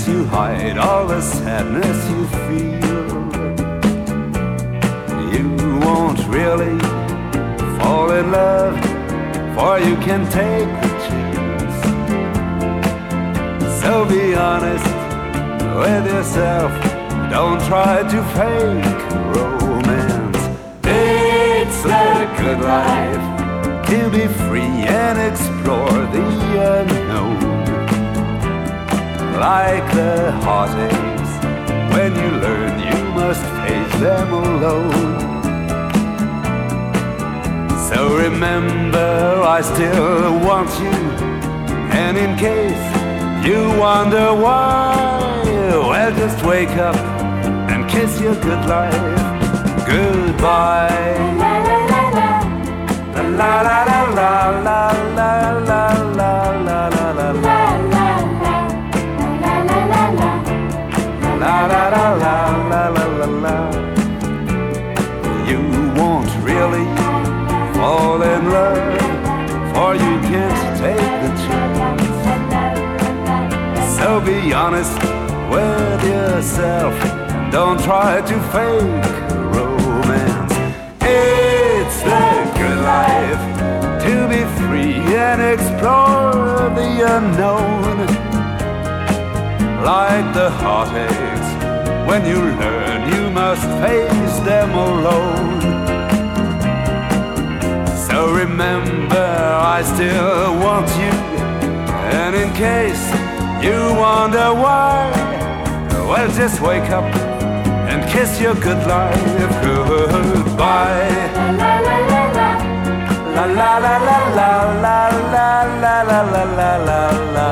lets you hide all the sadness you feel. You won't really fall in love, for you can take the chance. So be honest with yourself, don't try to fake romance. It's the good life to be free and explore the unknown. Like the heartaches, when you learn you must face them alone. So remember, I still want you, and in case you wonder why, well, just wake up and kiss your good life goodbye. La la la la la la la la la la la la. La la la la la la la la. You won't really fall in love, for you can't take the chance. So be honest with yourself, don't try to fake romance. It's the good life to be free and explore the unknown. Like the heartaches, when you learn you must face them alone. So remember, I still want you, and in case you wonder why, well, just wake up and kiss your good life goodbye. La la la la la la la la la la la la la la la la.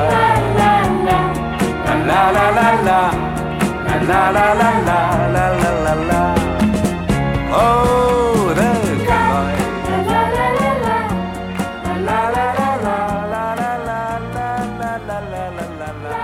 La la la la la la la la la la la la. Oh, the good life. La la la la la la la la la la la la la la la la.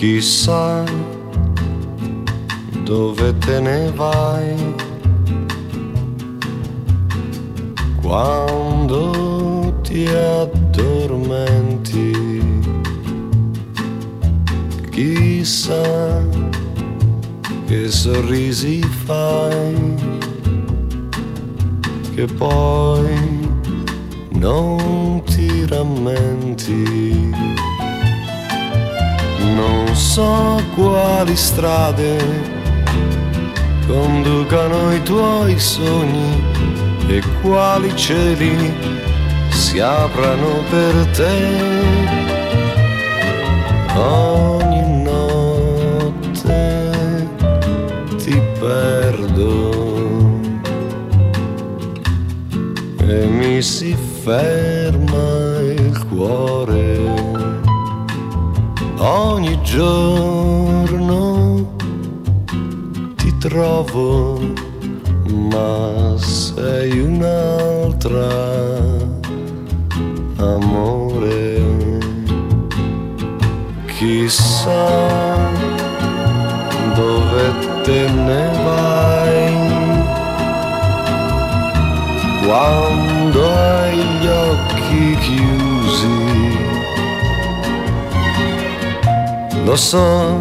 Chissà dove te ne vai quando ti addormenti. Chissà che sorrisi fai che poi non ti rammenti. Non so quali strade conducano i tuoi sogni e quali cieli si aprano per te. Ogni notte ti perdo e mi si ferma il cuore. Ogni giorno ti trovo, ma sei un'altra, amore. Chissà dove te ne vai quando hai gli occhi chiusi. Lo so,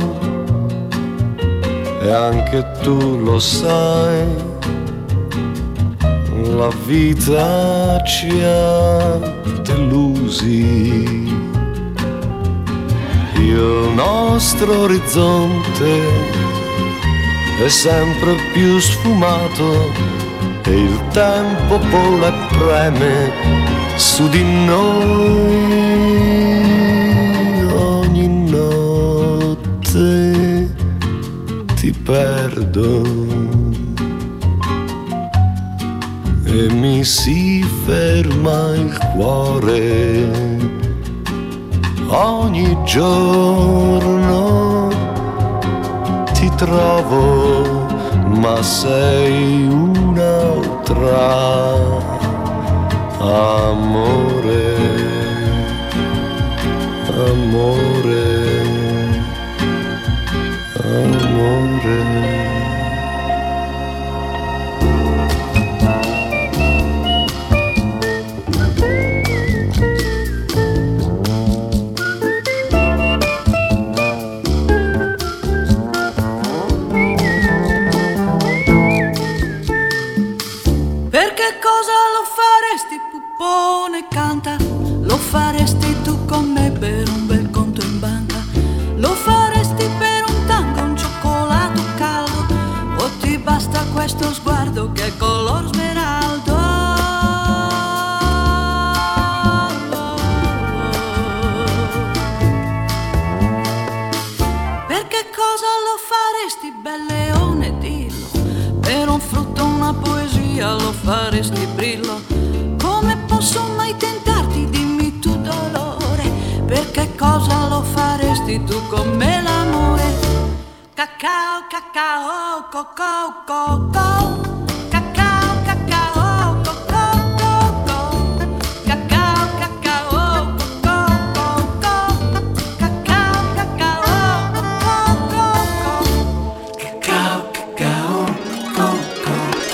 e anche tu lo sai, la vita ci ha delusi. Il nostro orizzonte è sempre più sfumato e il tempo vola e preme su di noi. Ogni notte ti perdo e mi si ferma il cuore. Ogni giorno ti trovo, ma sei un'altra, amore, amore, amore. Puppone canta, lo faresti tu con me per un bel conto in banca? Lo faresti per un tango, un cioccolato caldo? O ti basta questo sguardo che è color smeraldo? Per che cosa lo faresti, bel leone, dillo? Per un frutto, una poesia, lo faresti, brillo? Come posso mai tentarti, dimmi tu dolore, perché cosa lo faresti tu con me l'amore? Cacao, cacao, cocco, cocco, cacao, cacao, cocco, cocco, cacao, cacao, cocco, cocco, cacao, cacao, cocco, cacao, cacao, cocco,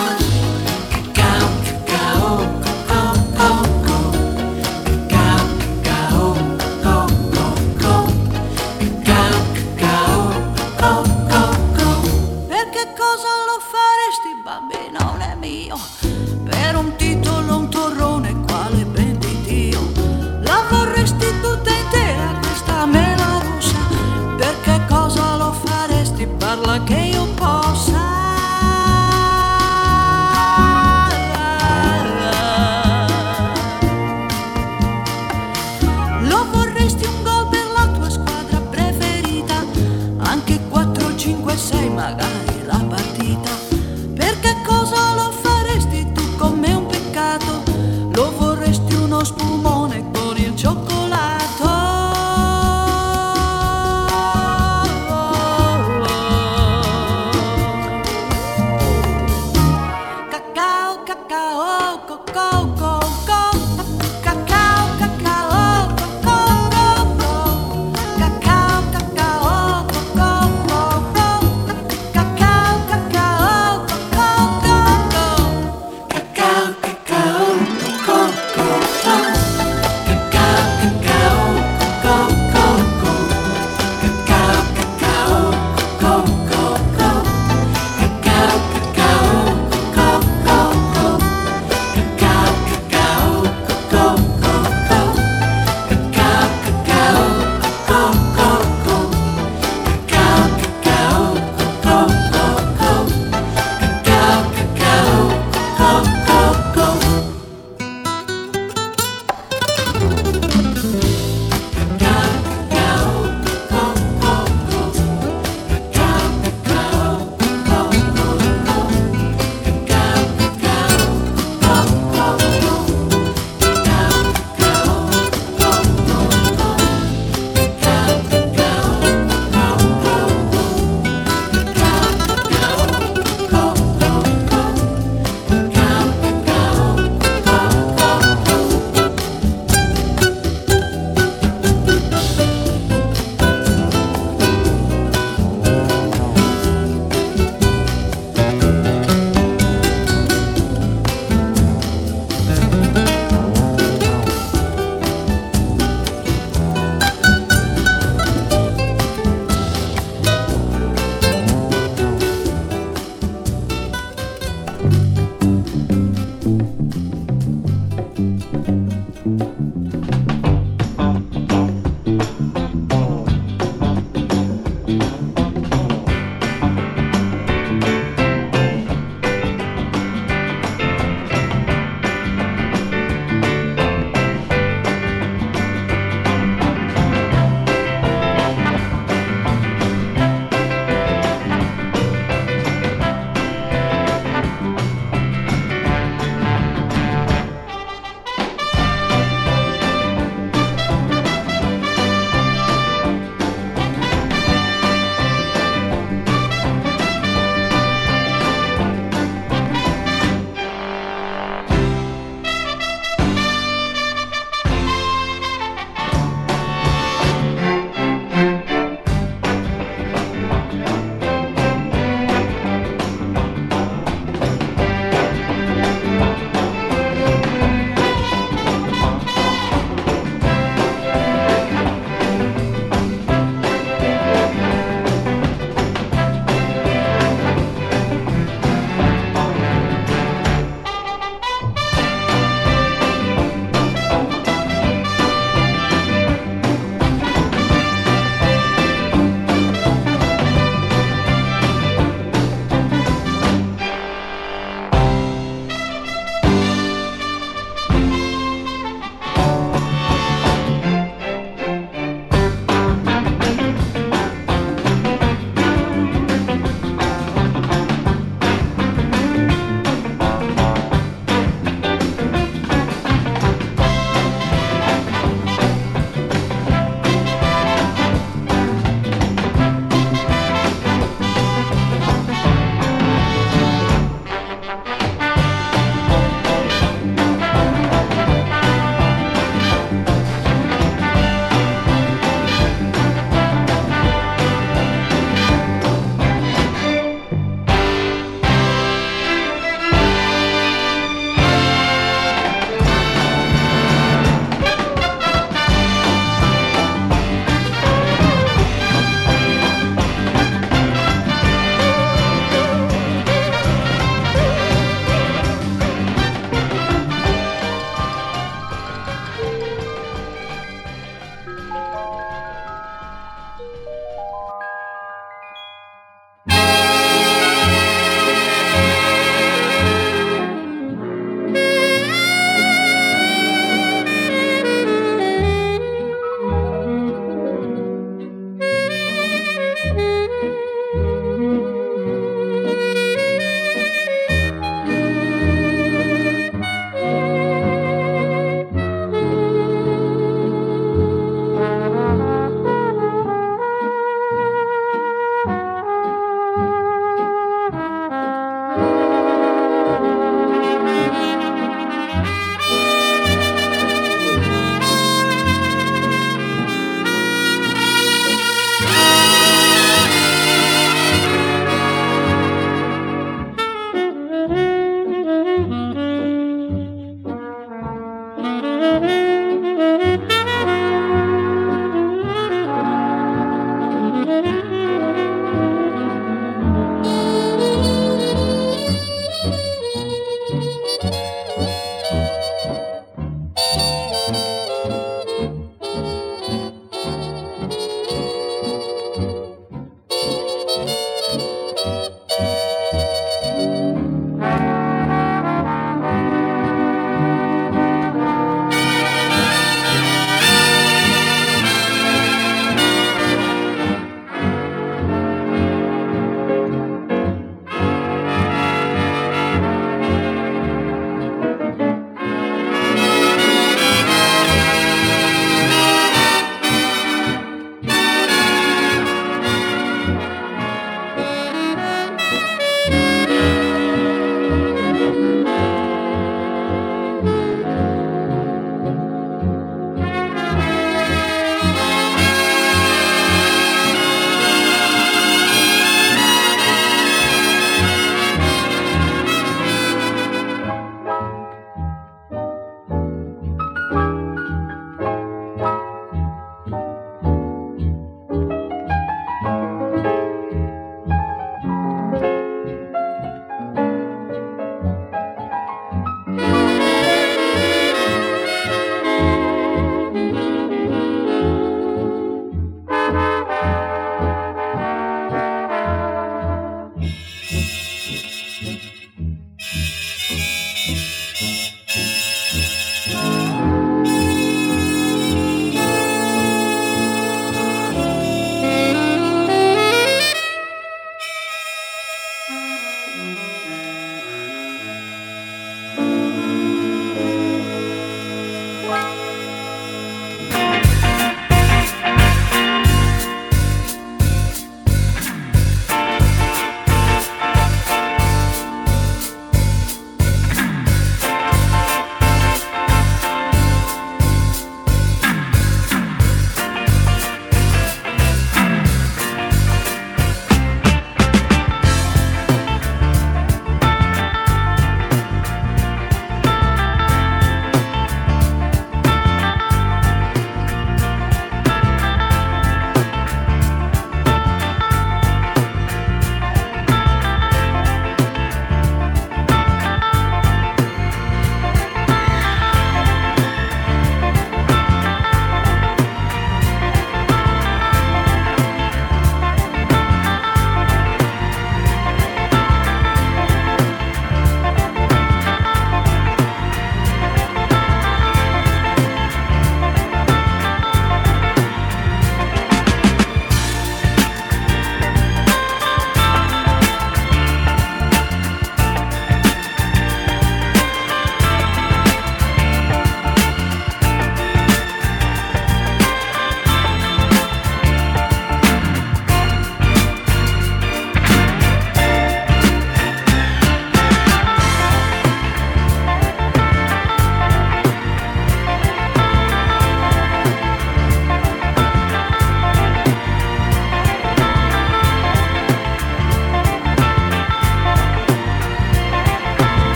per un titolo, un torrone, quale ben di Dio. La vorresti tutta intera questa mela russa? Per che cosa lo faresti? Parla che io possa. Lo vorresti un gol per la tua squadra preferita? Anche 4, 5, 6 magari la partita. Per che cosa lo faresti tu con me un peccato? Lo vorresti uno spumone con il cioccolato? Cacao, cacao, cocco, cocco, cacao, cacao, cocco, cocco, cacao, cacao,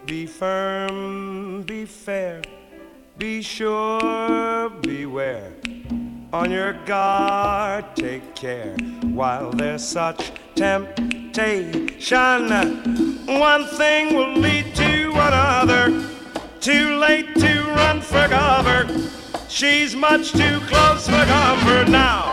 Be firm, be fair, be sure, beware. On your guard, take care while there's such temptation. One thing will lead to another. Too late to run for cover. She's much too close for comfort now.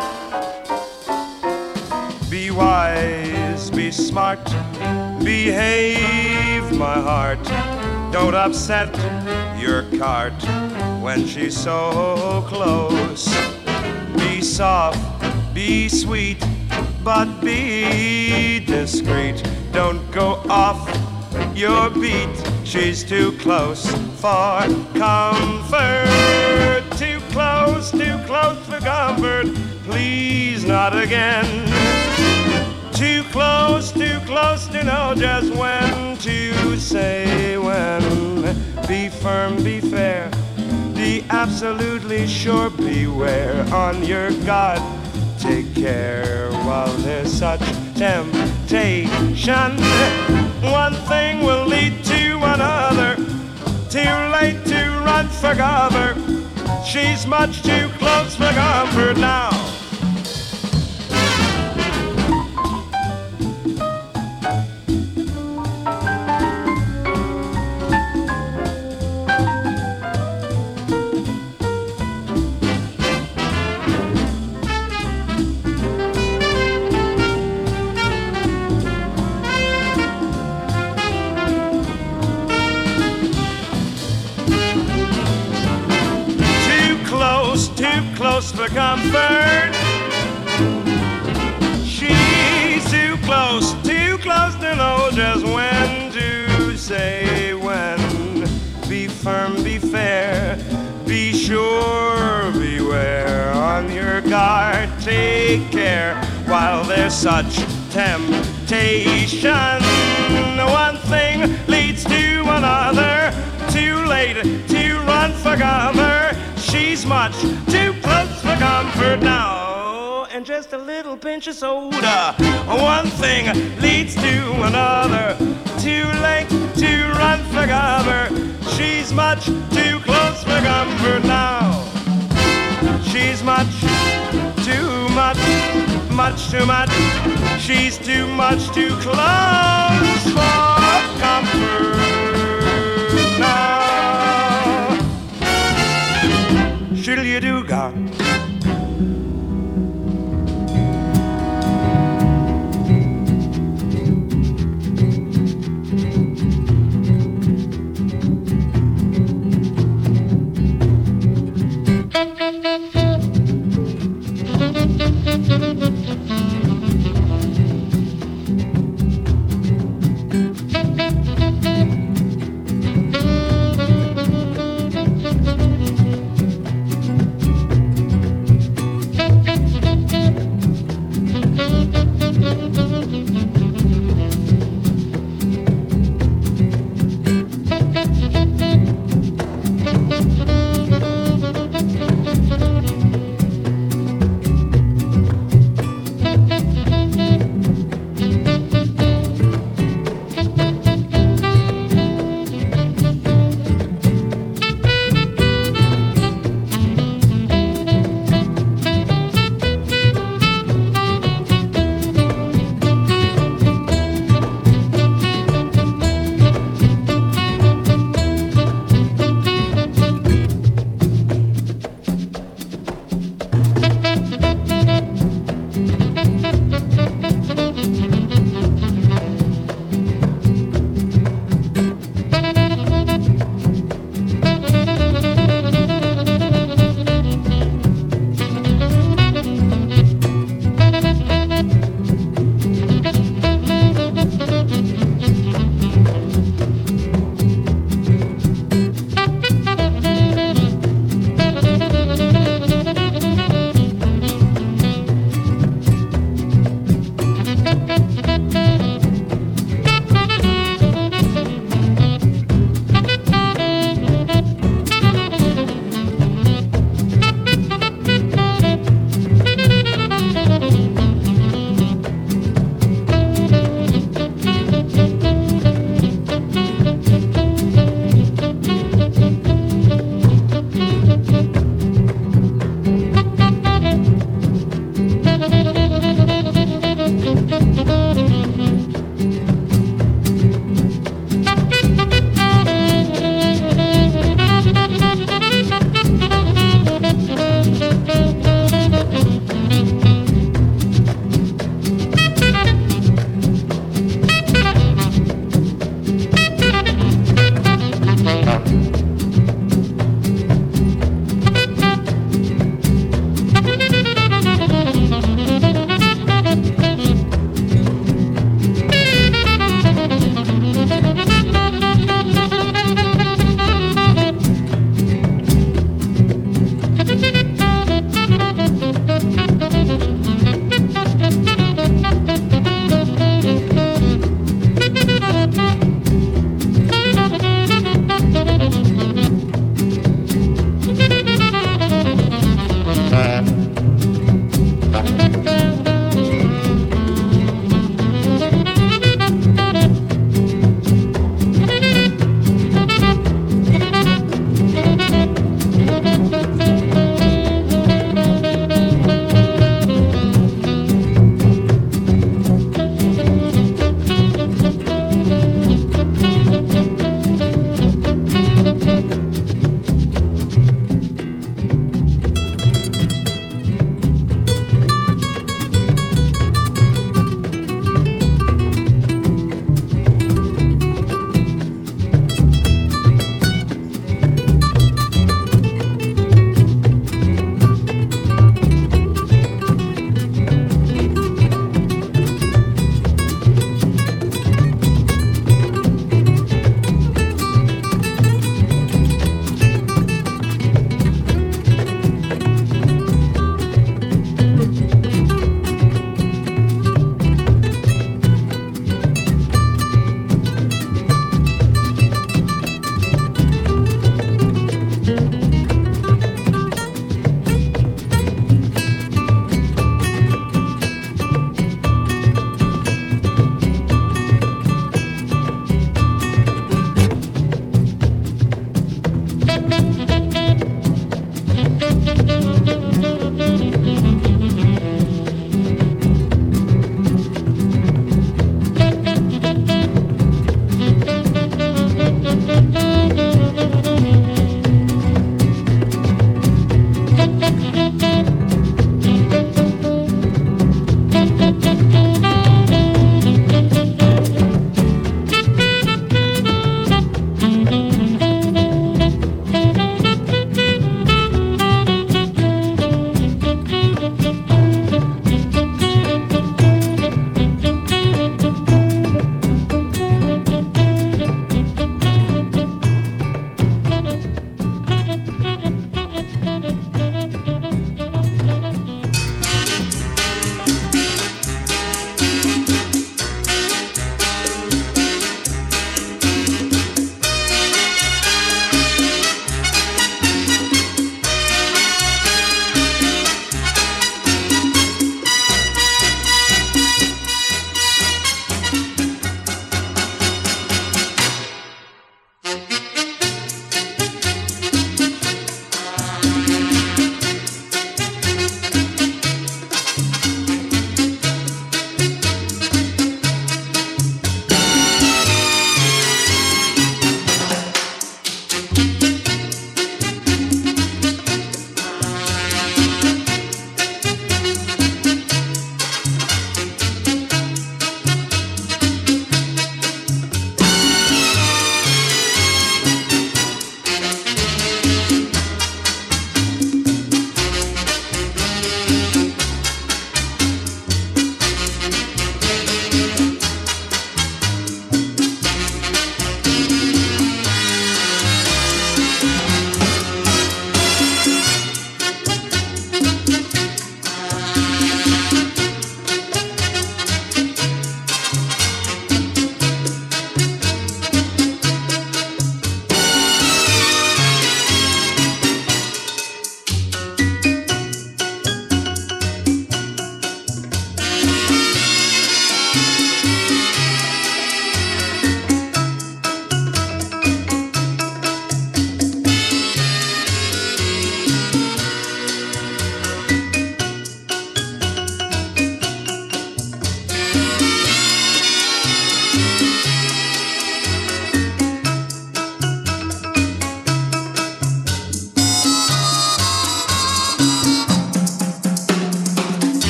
Be wise, be smart, behave, my heart. Don't upset your cart when she's so close. Be soft, be sweet, but be discreet. Don't go off your beat. She's too close for comfort. Too close for comfort. Please not again. Too close to know just when to say when. Be firm, be fair, be absolutely sure, beware. On your guard, take care while there's such temptation. One thing will lead to another. Too late to run for cover. She's much too close for comfort now. Close for comfort. She's too close to know just when to say when. Be firm, be fair, be sure, beware. On your guard, take care while there's such temptation. One thing leads to another. Too late to run for cover. She's much too close for comfort now. And just a little pinch of soda. One thing leads to another. Too late to run for cover. She's much too close for comfort now. She's much too much too much. She's too much too close for comfort now. Shiddle you do ga.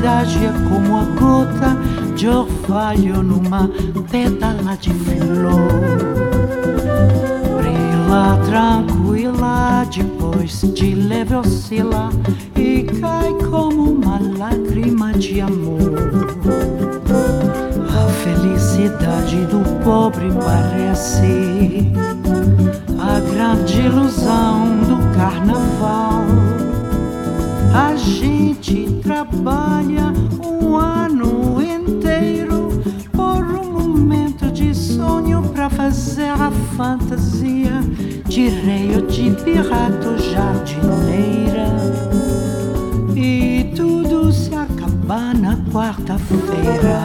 felicidade é como a gota de orvalho numa pétala de flor. Brilha tranquila, depois de leve oscila e cai como uma lágrima de amor. A felicidade do pobre parece a grande ilusão do carnaval. A gente trabalha um ano inteiro por um momento de sonho pra fazer a fantasia de rei ou de pirata ou jardineira. E tudo se acaba na quarta-feira.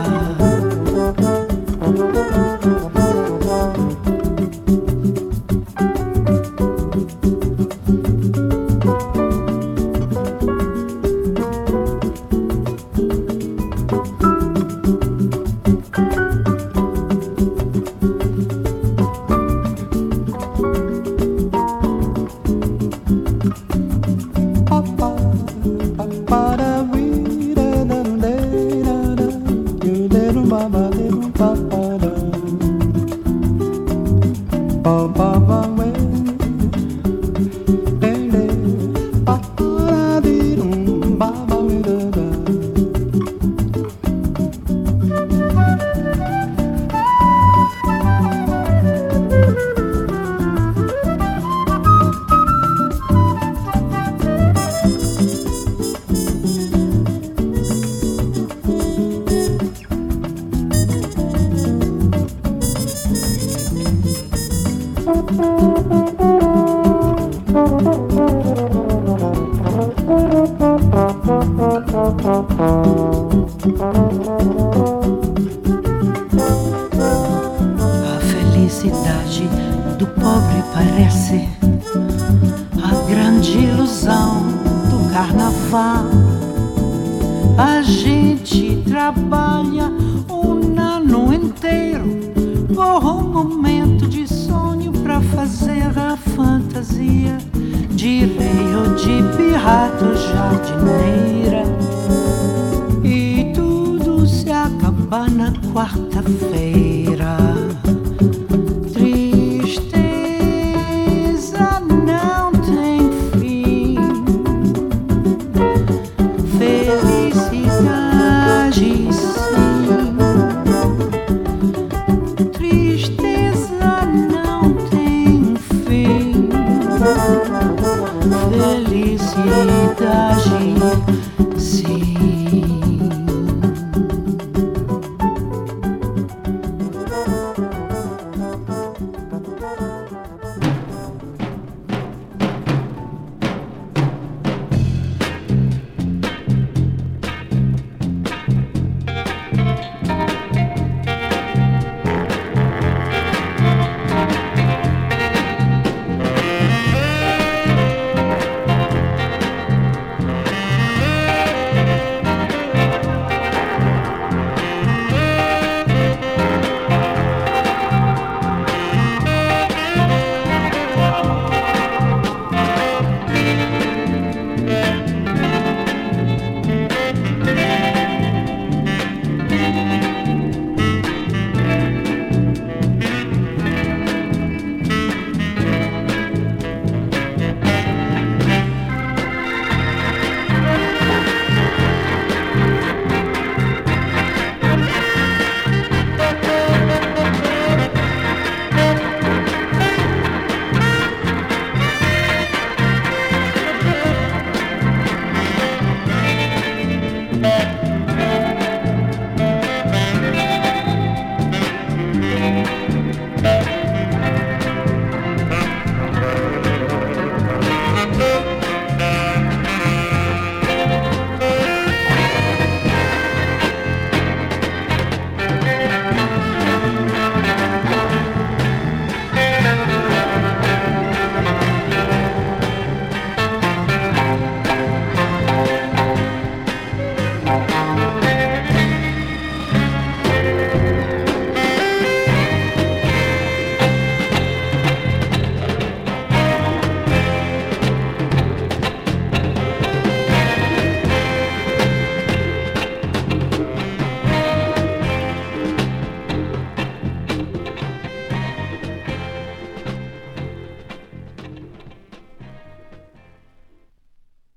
A felicidade do pobre parece a grande ilusão do carnaval. A gente trabalha um ano inteiro por um momento de sonho pra fazer a fantasia de rei ou de pirata ou jardineira. E tudo se acaba na quarta-feira.